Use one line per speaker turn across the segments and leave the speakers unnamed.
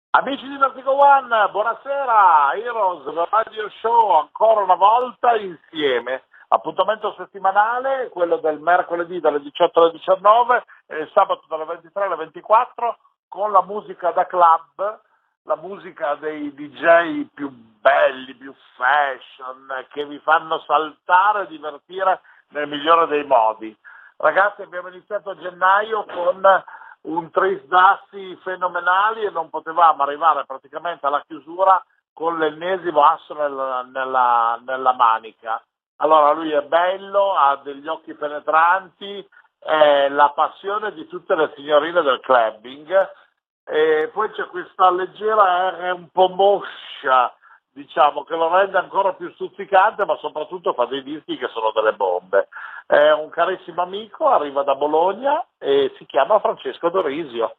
Amici di Vertigo One, buonasera, Heroes Radio Show ancora una volta insieme, appuntamento settimanale, quello del mercoledì dalle 18 alle 19 e il sabato dalle 23 alle 24 con la musica da club, la musica dei DJ più belli, più fashion, che vi fanno saltare e divertire nel migliore dei modi. Ragazzi, abbiamo iniziato a gennaio con un tris d'assi fenomenali e non potevamo arrivare praticamente alla chiusura con l'ennesimo asso nella manica. Allora lui è bello, ha degli occhi penetranti, è la passione di tutte le signorine del clubbing, e poi c'è questa leggera R un po' moscia, diciamo, che lo rende ancora più stuzzicante, ma soprattutto fa dei dischi che sono delle bombe. È un carissimo amico, arriva da Bologna e si chiama Francesco Dorisio.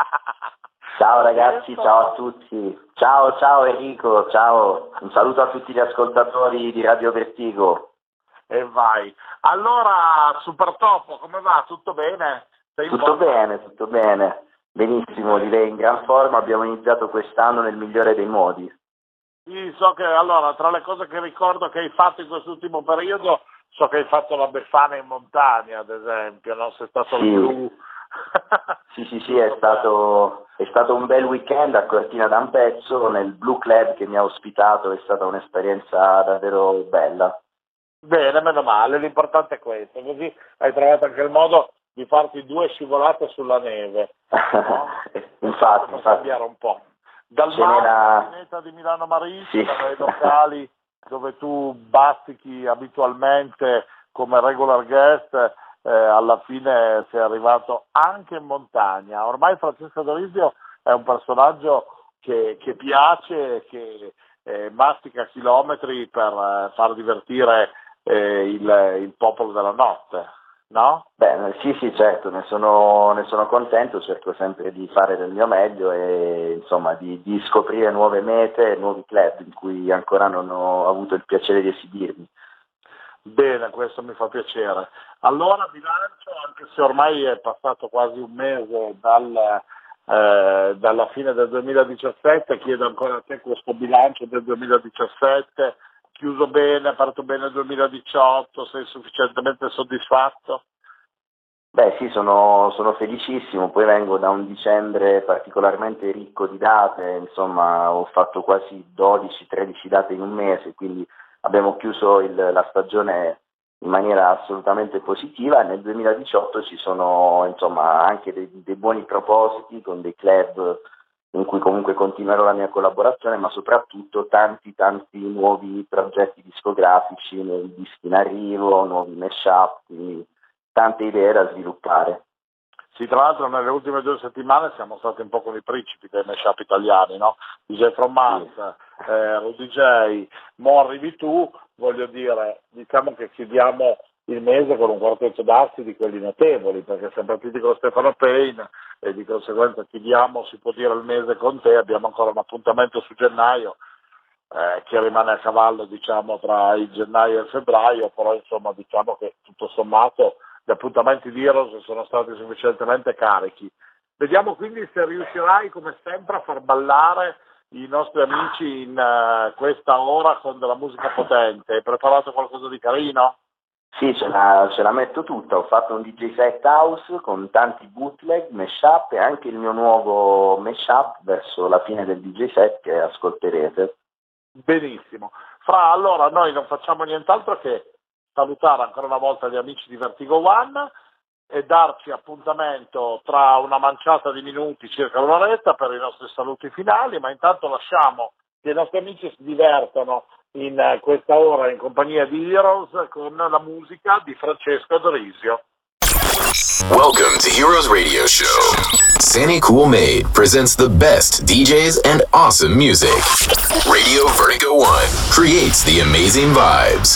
Ciao ragazzi, ciao a tutti. Ciao Enrico, ciao. Un saluto a tutti gli ascoltatori di Radio Vertigo.
E vai. Allora, Super Topo, come va? Tutto bene?
Tutto bene. Benissimo, direi in gran forma. Abbiamo iniziato quest'anno nel migliore dei modi.
Sì, so che allora tra le cose che ricordo che hai fatto in quest'ultimo periodo, so che hai fatto la Befana in montagna, ad esempio, no? Sei stato
sì.
Blu.
Sì, è stato un bel weekend a Cortina d'Ampezzo nel Blue Club che mi ha ospitato, è stata un'esperienza davvero bella.
Bene, meno male, l'importante è questo, così hai trovato anche il modo di farti 2 scivolate sulla neve, no?
infatti.
Per cambiare un po'. Dal mare, di Milano Marittima, dai locali dove tu bazzichi abitualmente come regular guest, alla fine sei arrivato anche in montagna. Ormai Francesco Dorisio è un personaggio che piace, che mastica chilometri per far divertire il popolo della notte, no?
Beh, sì, certo, ne sono contento, cerco sempre di fare del mio meglio e insomma di scoprire nuove mete, nuovi club in cui ancora non ho avuto il piacere di esibirmi.
Bene, questo mi fa piacere. Allora bilancio, anche se ormai è passato quasi un mese dalla fine del 2017, chiedo ancora a te questo bilancio del 2017, chiuso bene, aperto bene il 2018, sei sufficientemente soddisfatto?
Beh sì, sono felicissimo, poi vengo da un dicembre particolarmente ricco di date, insomma ho fatto quasi 12-13 date in un mese, quindi abbiamo chiuso la stagione in maniera assolutamente positiva e nel 2018 ci sono insomma anche dei buoni propositi con dei club in cui comunque continuerò la mia collaborazione, ma soprattutto tanti nuovi progetti discografici, nuovi dischi in arrivo, nuovi mashup, quindi tante idee da sviluppare.
Sì, tra l'altro nelle ultime 2 settimane siamo stati un po' con i principi dei mashup italiani, no? DJ From Mars, Rudy J, mo arrivi tu, voglio dire, diciamo che chiudiamo il mese con un quartetto d'assi di quelli notevoli, perché siamo partiti con Stefano Payne e di conseguenza chiudiamo, si può dire, il mese con te, abbiamo ancora un appuntamento su gennaio, che rimane a cavallo, diciamo, tra il gennaio e il febbraio, però insomma diciamo che tutto sommato gli appuntamenti di Heroes sono stati sufficientemente carichi. Vediamo quindi se riuscirai come sempre a far ballare i nostri amici in questa ora con della musica potente. Hai preparato qualcosa di carino?
Sì, ce la metto tutta, ho fatto un DJ set house con tanti bootleg, mashup e anche il mio nuovo mashup verso la fine del DJ set che ascolterete.
Benissimo. Fra, allora noi non facciamo nient'altro che salutare ancora una volta gli amici di Vertigo One e darci appuntamento tra una manciata di minuti, circa un'oretta, per i nostri saluti finali, ma intanto lasciamo che i nostri amici si divertano in questa ora in compagnia di Heroes con la musica di Francesco Dorisio.
Welcome to Heroes Radio Show. Sandy Cool Made presents the best DJs and awesome music. Radio Vertigo One creates the amazing vibes.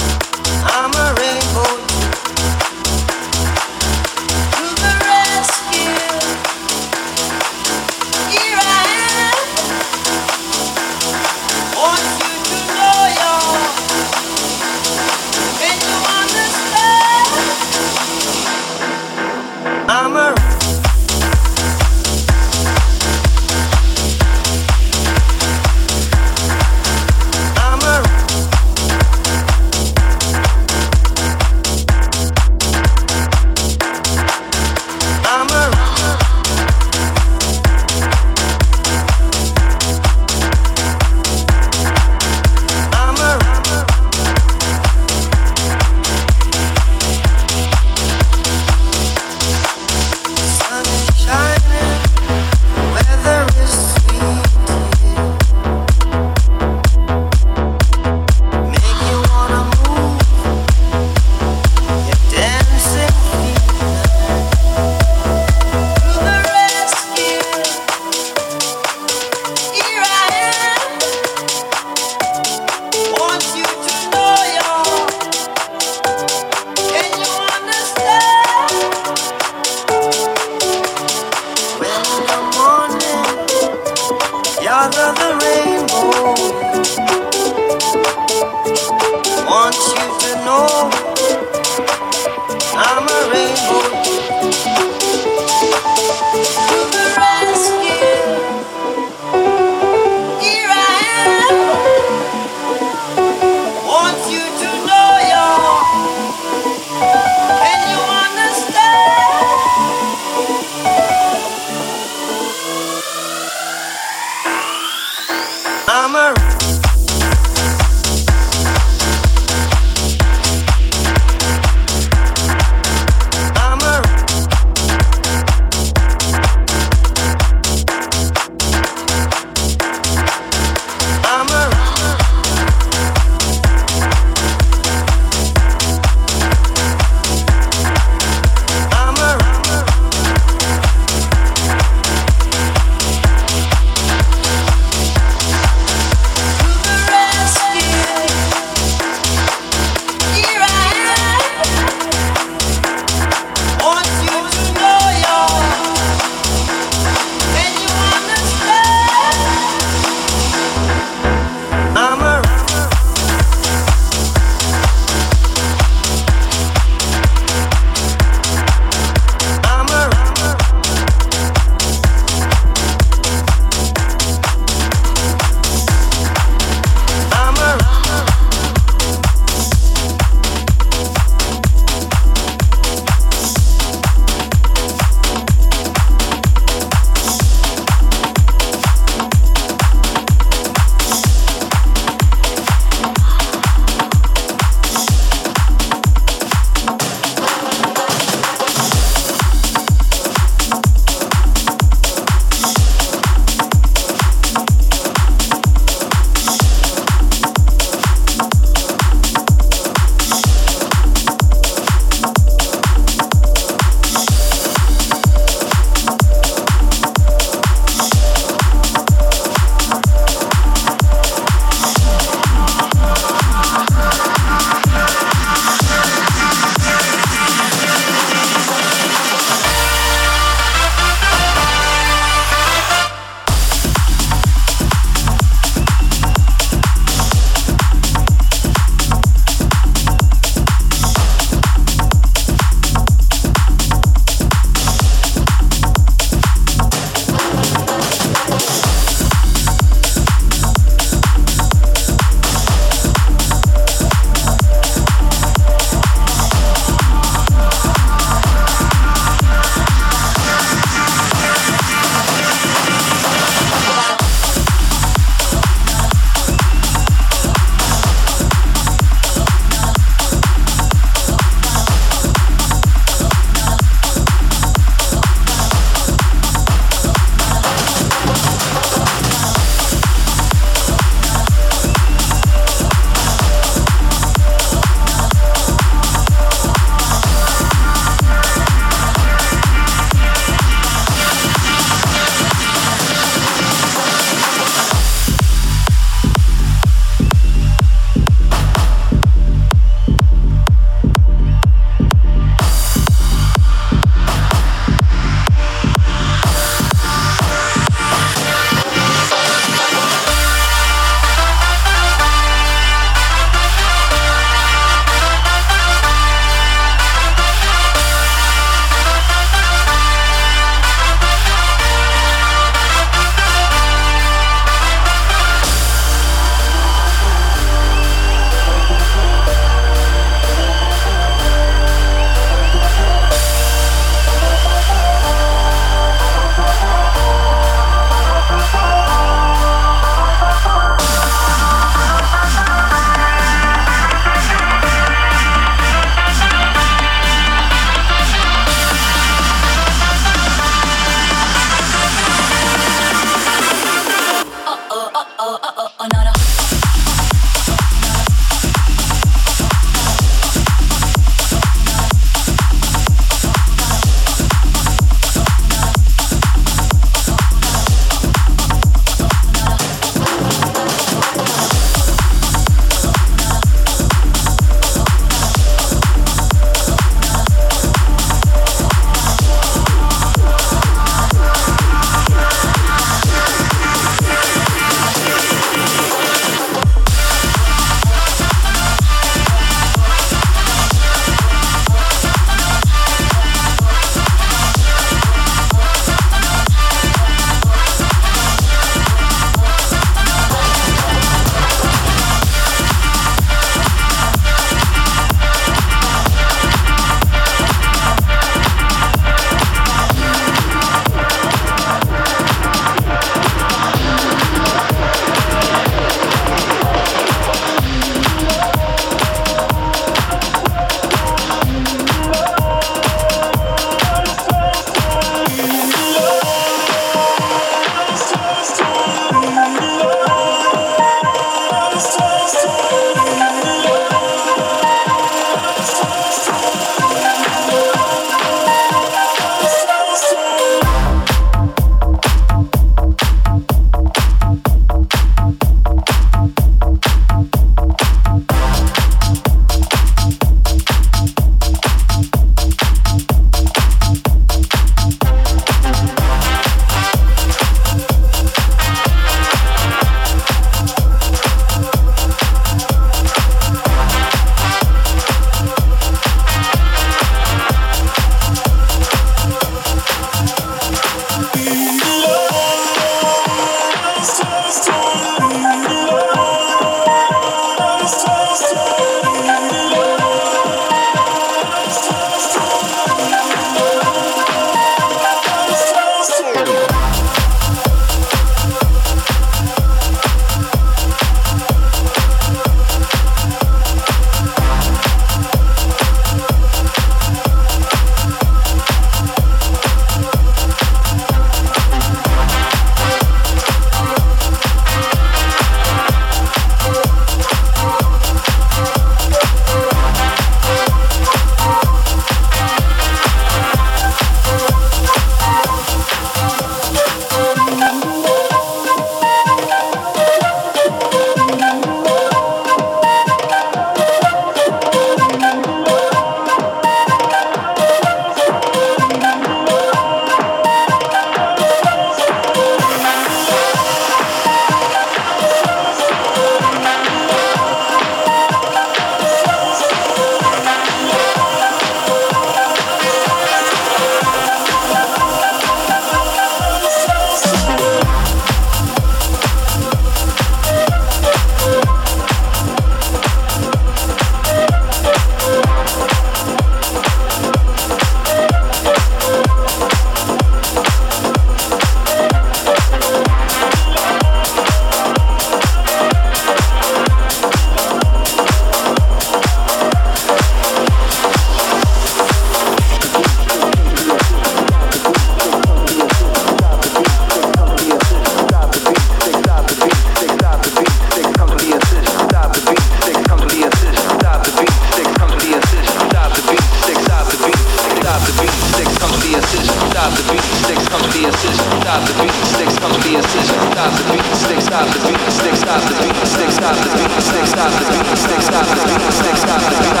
six, come to the incision, stop the beat, six, come to the incision, stop the beat, six, stop the beat, six, stop the beat, six, stop the beat, six, stop the beat, six, stop the beat, six, stop the beat,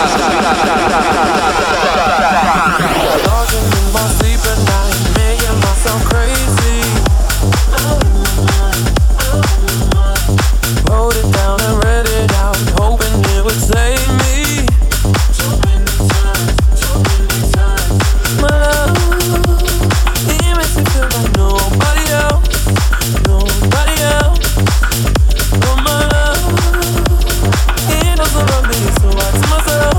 Dodging in my sleep at night, making myself crazy. Wrote it down and read it out, hoping it would save me. My love, it makes me feel like nobody else, nobody else. Oh my love, it doesn't love me, so I tell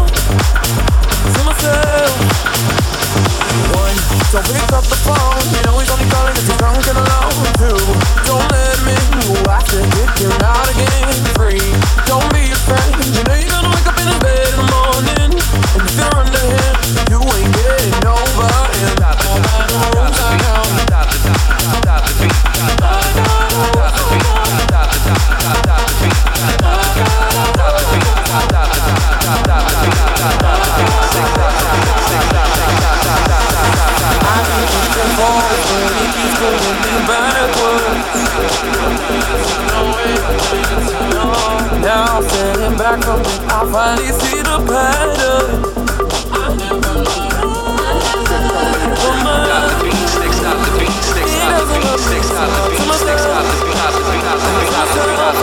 myself. One, don't pick up the phone, you know he's only calling 'cause he's drunk and alone. Two, don't let him in, you have to kick him out again. Three, don't be afraid, you know you're gonna wake up in his bed in the morning, and if you're under him, you ain't getting over him. All by the rules I know. Stop the beat, stop the beat, stop the beat, stop the beat, stop the beat, stop the beat, stop the beat, stop the beat, stop the beat, stop the beat, I keep pushing forward, he keeps pulling me backwards. Now I'm standing back from it, I finally see the pattern. I never learned. Stop the beat, six, stop the beat, six, stop the beat, six, stop the beat, six, stop the beat, stop the beat, stop the beat, stop the beat, stop the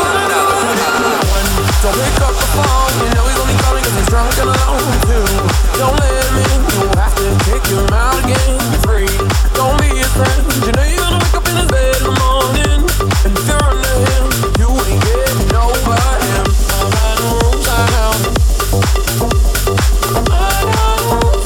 beat. Don't pick up the phone, you know he's only calling 'cause he's drunk and alone. Two, don't let him in, you have to kick him out again. Three, don't be his friend, you know you're gonna wake up in his bed in the morning, and if you're under him, you ain't getting over him. All by the rules I know. All by the rules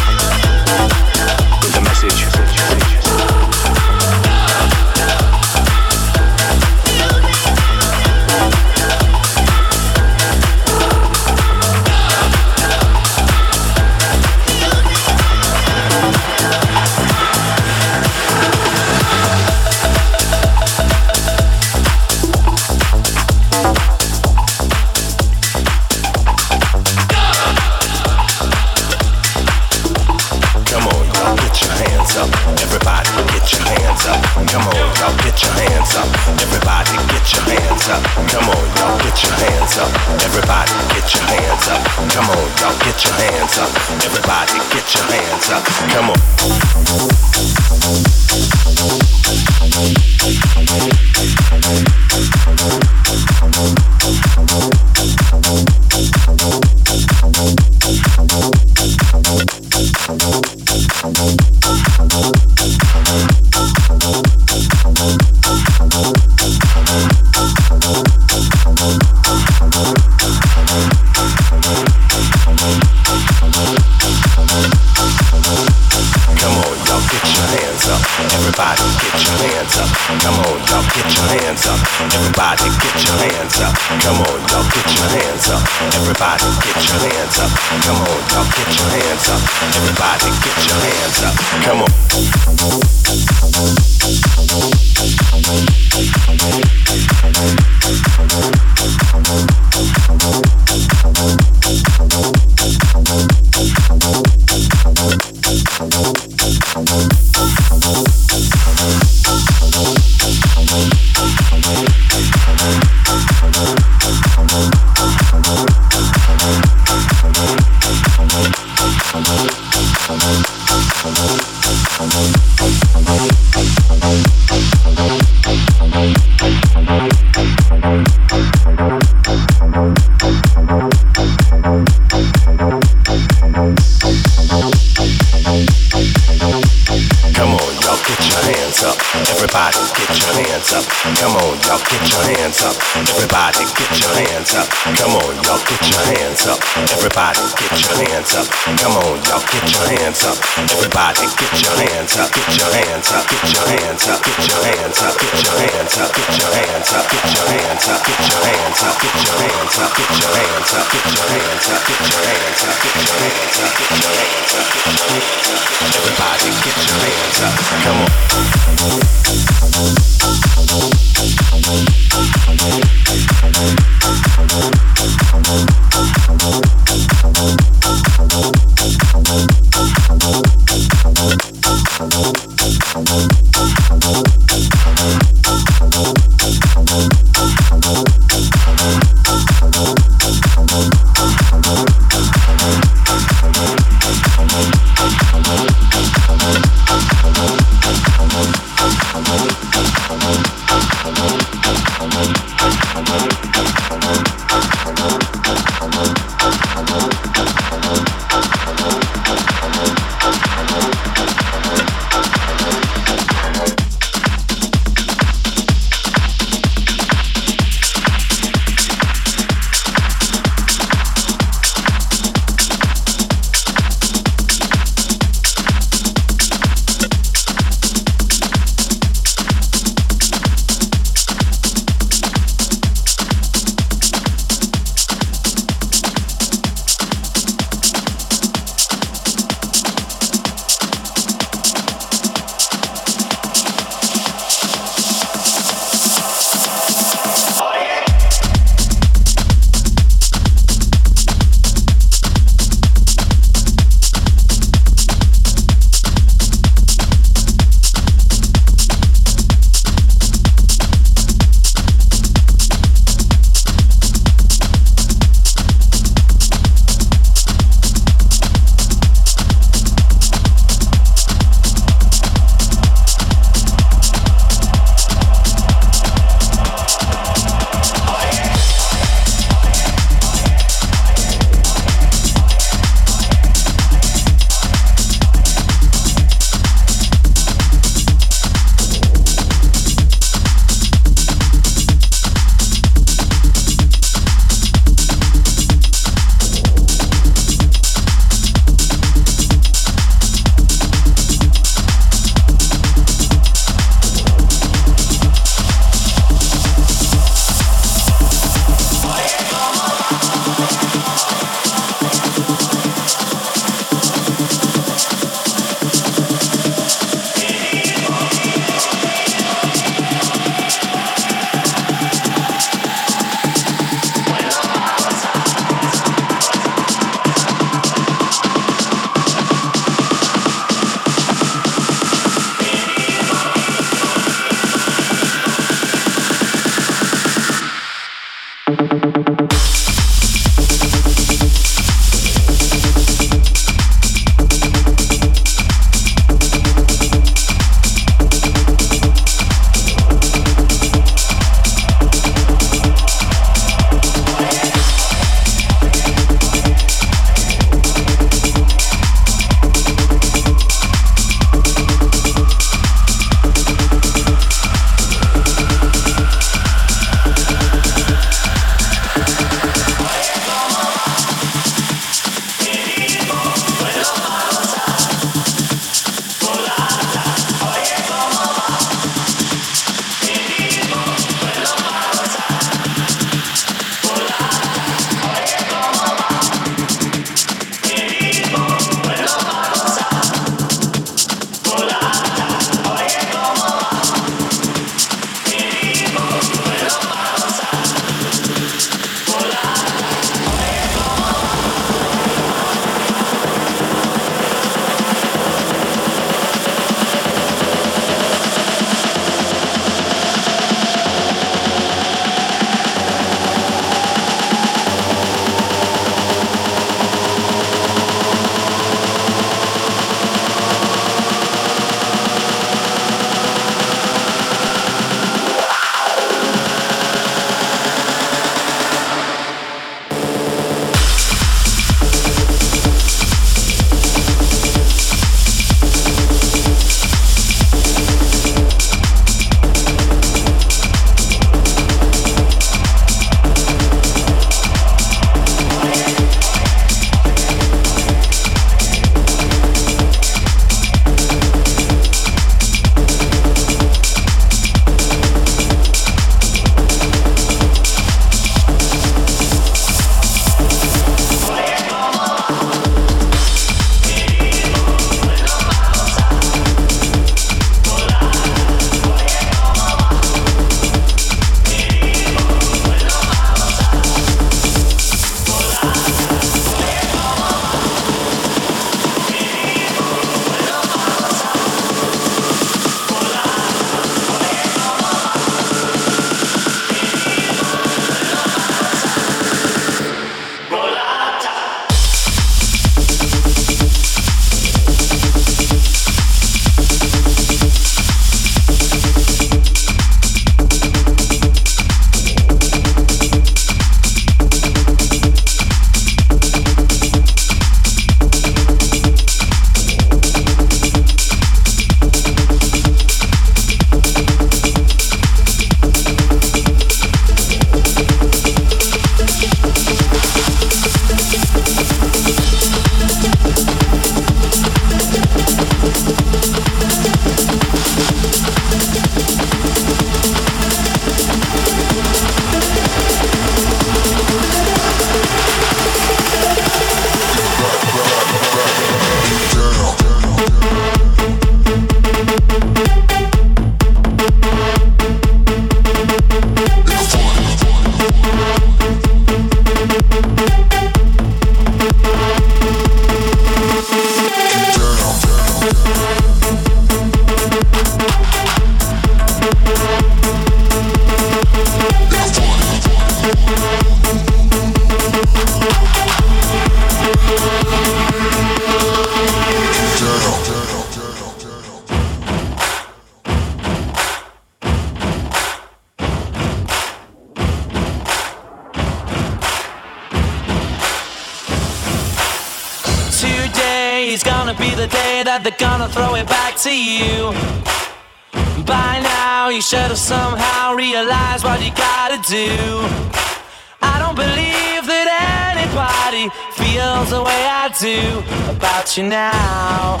say that they're gonna throw it back to you. By now you should have somehow realized what you gotta do. I don't believe that anybody feels the way I do about you now.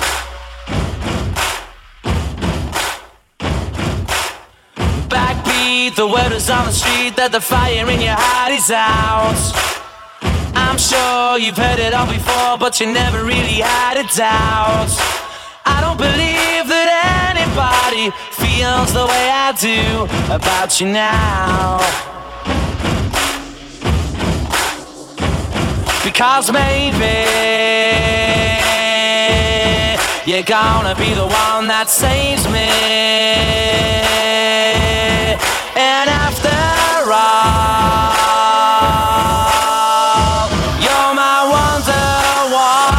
Backbeat, the word is on the street that the fire in your heart is out. I'm sure you've heard it all before, but you never really had a doubt. I don't believe that anybody feels the way I do about you now. Because maybe you're gonna be the one that saves me. And after all, you're my wonderwall.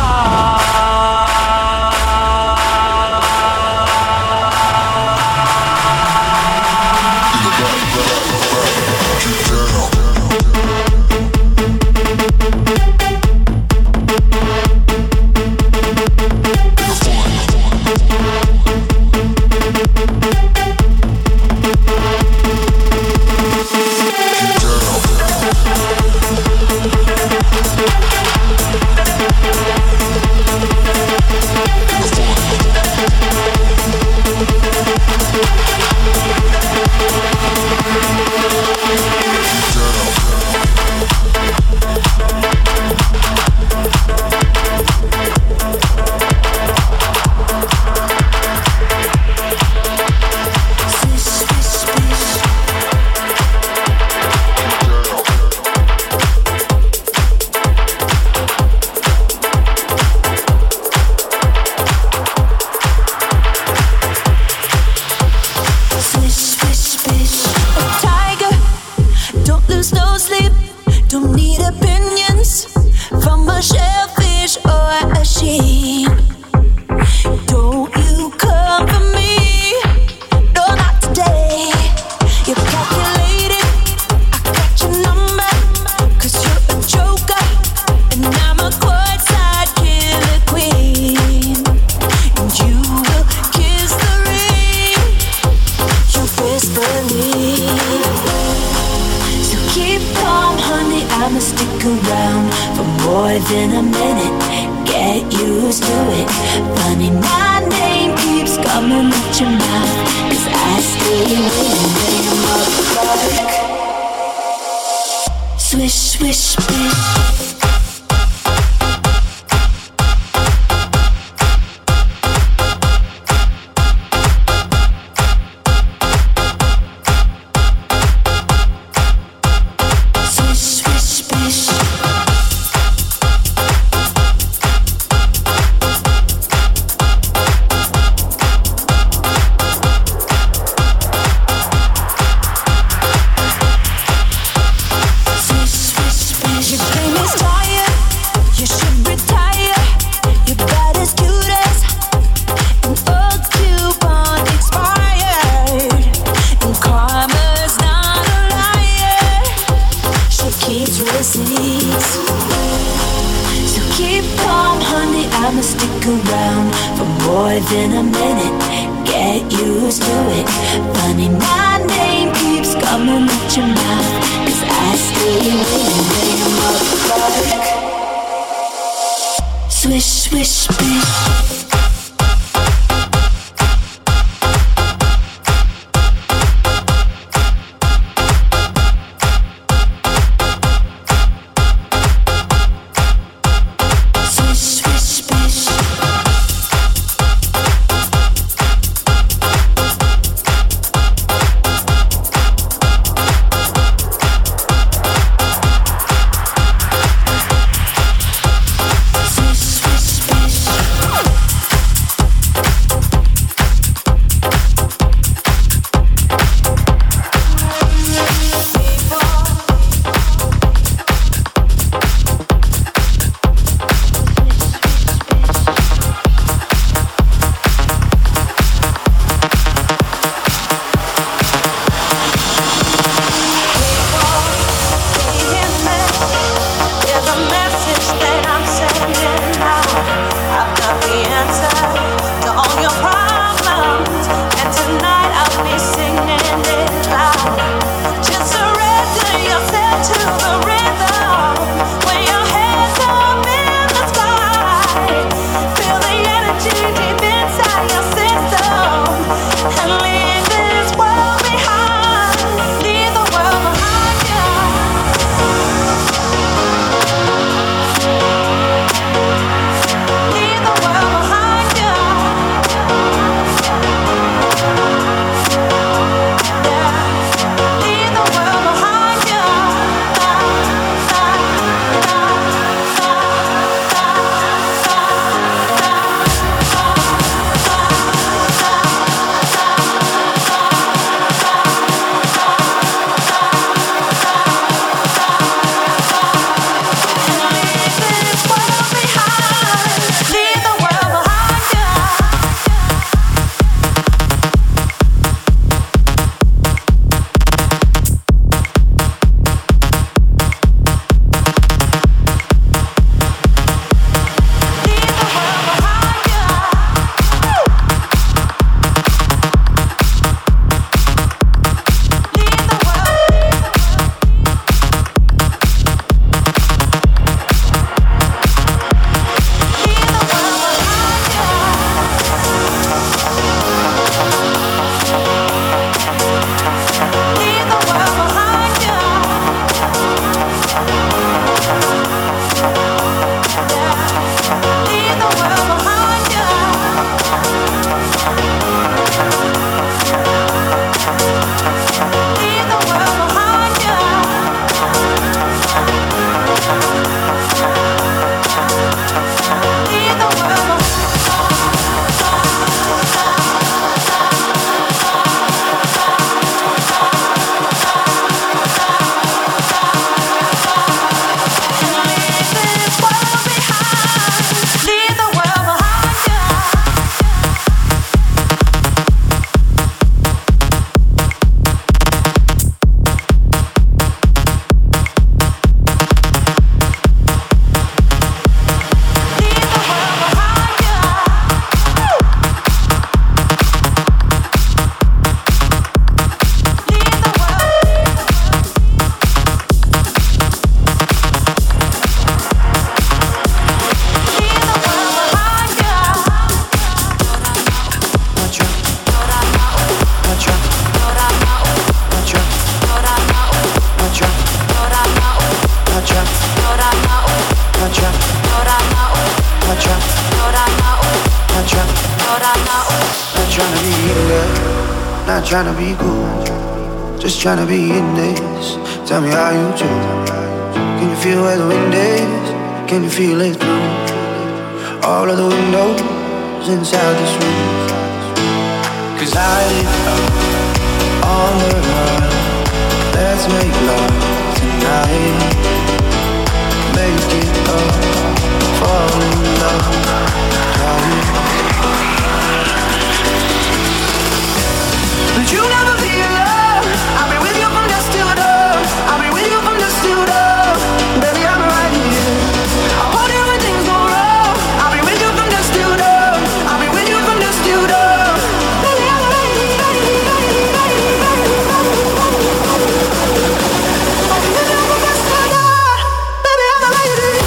trying to be in there, not trying to be cool, just trying to be in this. Tell me how you do. Can you feel where the wind is? Can you feel it through all of the windows inside this room? 'Cause I lit up on the run. Let's make love tonight. Make it up, fall in love, darling. But you never be alone. I'll be with you from dusk till dawn. I'll be with you from dusk till dawn. Baby, I'm right here. I'll hold you when things go wrong. I'll be with you from dusk till dawn. I'll be with you from dusk till dawn. Baby, I'm right here. I'll be with you from dusk till dawn. Baby, I'm right here.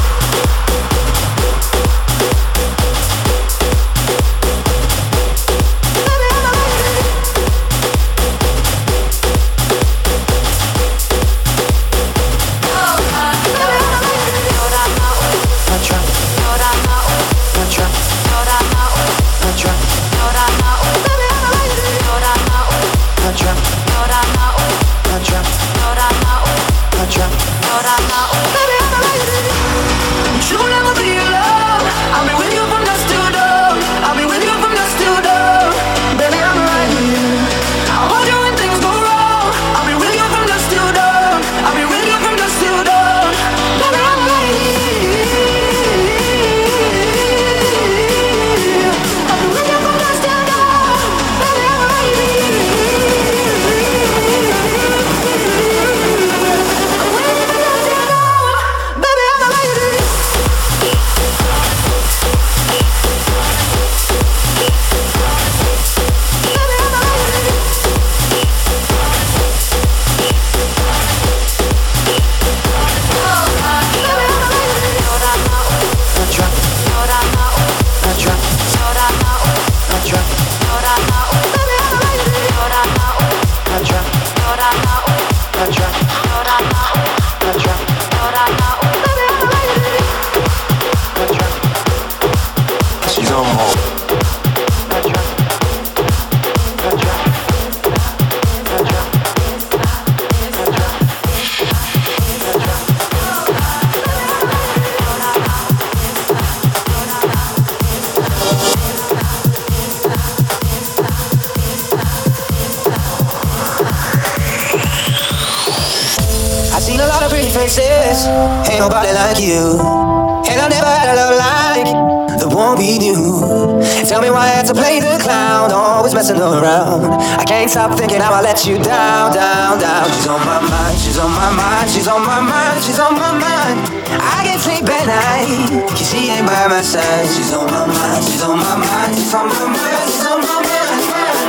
Ain't nobody like you, and I never had a love like that won't be new. Tell me why I had to play the clown, always messing around. I can't stop thinking how I let you down, down, down. She's on my mind, she's on my mind, she's on my mind, she's on my mind. I can't sleep at night, 'cause she ain't by my side. She's on my mind, she's on my mind, she's on my mind, she's on my mind.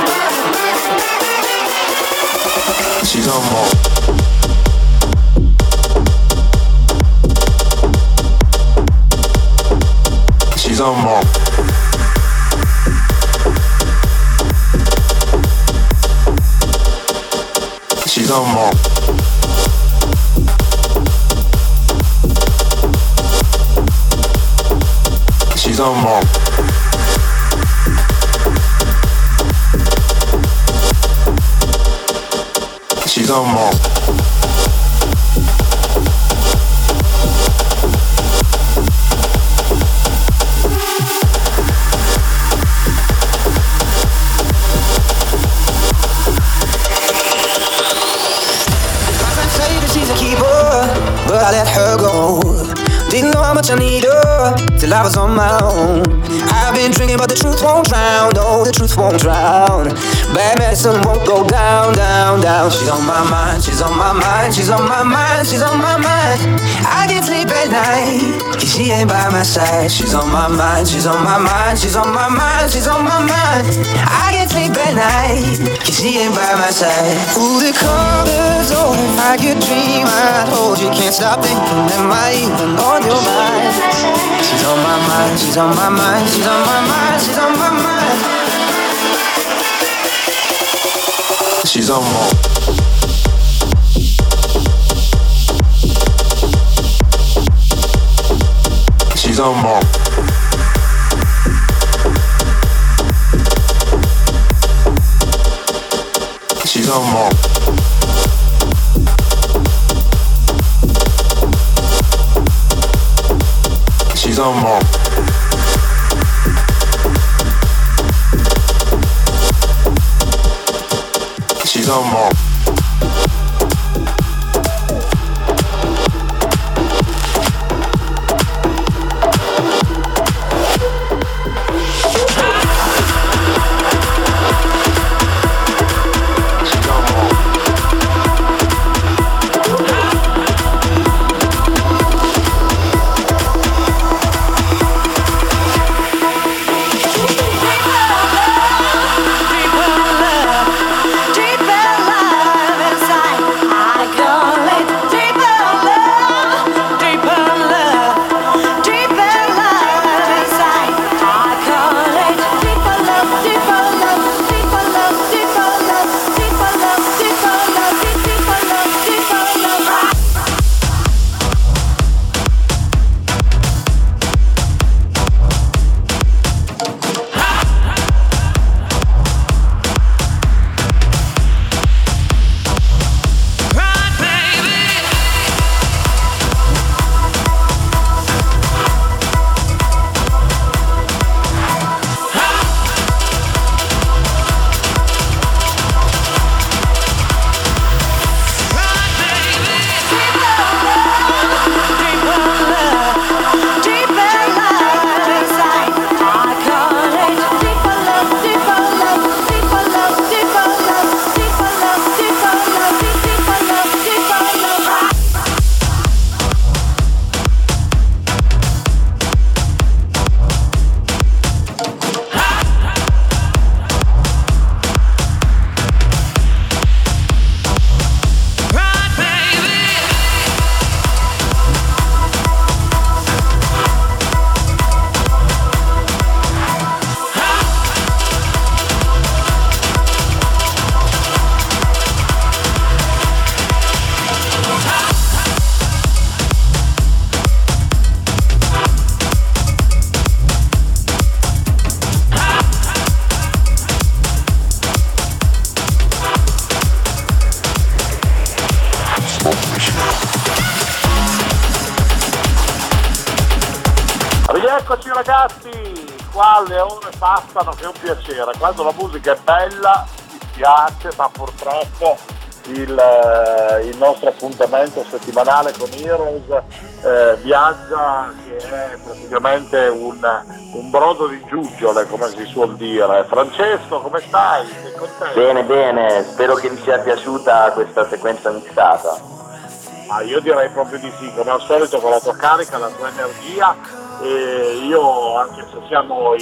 She's on my She's on more. She's on more. She's on more. She's on more.
But I let her go. Didn't know how much I need her till I was on my own. I've been drinking but the truth won't drown. No, the truth won't drown. Bad medicine won't go down, down, down. She's on my mind, she's on my mind, she's on my mind, she's on my mind. I can't sleep at night 'cause she ain't by my side. She's on my mind, she's on my mind, she's on my mind, she's on my mind. I can't sleep at night 'cause she ain't by my side. Ooh, the colors open like a dream. I told you can't stop thinking, am I even on your mind? She's on my mind, she's on my mind, she's on my mind, she's on my mind.
She's on more. She's on more. on Mars. She's on Mars. She's on Mars.
Rieccoci ragazzi, qua le ore passano che è un piacere, quando la musica è bella mi piace, ma purtroppo il nostro appuntamento settimanale con Heroes viaggia, che è praticamente un brodo di giuggiole, come si suol dire. Francesco, come stai? Sei contento?
Bene, bene, spero che vi sia piaciuta questa sequenza mixata.
Io direi proprio di sì, come al solito con la tua carica, la tua energia, e io, anche se siamo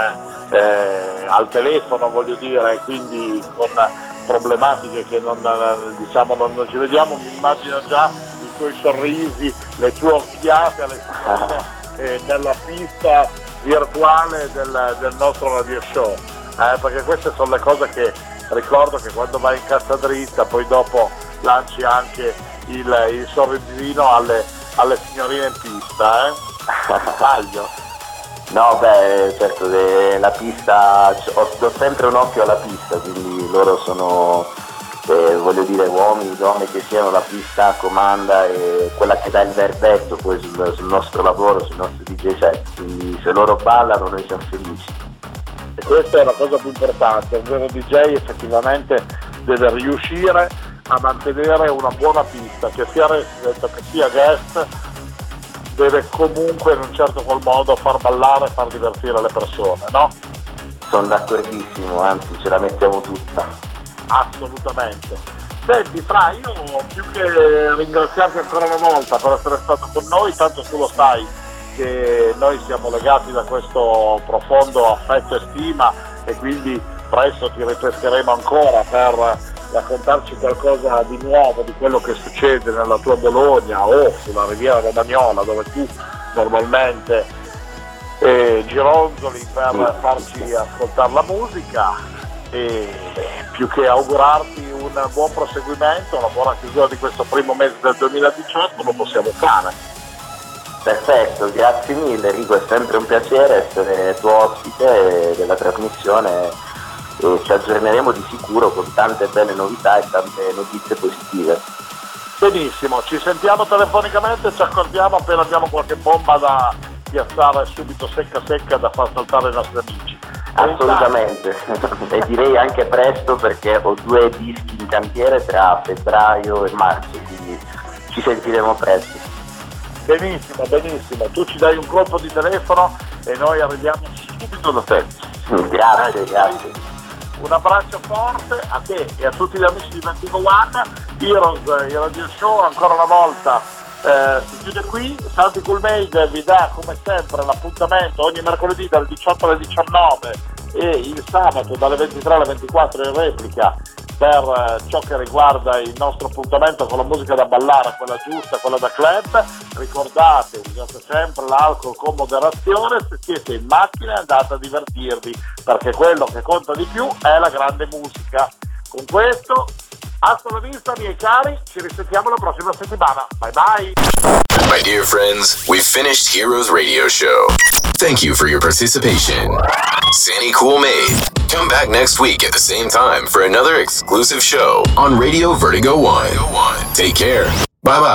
al telefono, voglio dire, quindi con problematiche che non ci vediamo, mi immagino già i tuoi sorrisi, le tue occhiate alle spalle nella pista virtuale del nostro radio show, perché queste sono le cose che ricordo, che quando vai in cassa dritta poi dopo lanci anche il sorrisino alle signorine in pista, Taglio.
No, beh, certo, la pista, do sempre un occhio alla pista, quindi loro sono, voglio dire, uomini, donne che siano, la pista comanda e quella che dà il verdetto poi sul nostro lavoro, sul nostro DJ set, quindi se loro ballano noi siamo felici.
E questa è la cosa più importante, un vero DJ effettivamente deve riuscire a mantenere una buona pista, che sia resident, che sia guest, deve comunque in un certo qual modo far ballare e far divertire le persone, no?
Sono d'accordissimo, anzi ce la mettiamo tutta.
Assolutamente. Senti Fra, io più che ringraziarti ancora una volta per essere stato con noi, tanto tu lo sai che noi siamo legati da questo profondo affetto e stima, e quindi presto ti ripescheremo ancora per raccontarci qualcosa di nuovo di quello che succede nella tua Bologna o sulla Riviera Romagnola, dove tu normalmente gironzoli per farci ascoltare la musica, e più che augurarti un buon proseguimento, una buona chiusura di questo primo mese del 2018, lo possiamo fare.
Perfetto, grazie mille Enrico, è sempre un piacere essere tuo ospite della trasmissione e ci aggiorneremo di sicuro con tante belle novità e tante notizie positive.
Benissimo, ci sentiamo telefonicamente, ci accordiamo appena abbiamo qualche bomba da piazzare subito secca da far saltare i nostri amici.
Assolutamente, e direi anche presto, perché ho 2 dischi in cantiere tra febbraio e marzo, quindi ci sentiremo presto.
Benissimo, tu ci dai un colpo di telefono e noi arriviamo subito da te.
Grazie.
Un abbraccio forte a te e a tutti gli amici di Vertigo One. Heroes, il radio show ancora una volta si chiude qui. Santi Cool Made vi dà come sempre l'appuntamento ogni mercoledì dalle 18 alle 19 e il sabato dalle 23 alle 24 in replica per ciò che riguarda il nostro appuntamento con la musica da ballare, quella giusta, quella da club. Ricordate, usate sempre l'alcol con moderazione, se siete in macchina andate a divertirvi, perché quello che conta di più è la grande musica. Con questo, hasta la vista miei cari, ci risentiamo la prossima settimana. Bye bye!
My dear friends, we've finished Heroes Radio Show. Thank you for your participation. Sandy Cool Made. Come back next week at the same time for another exclusive show on Radio Vertigo One. Take care. Bye-bye.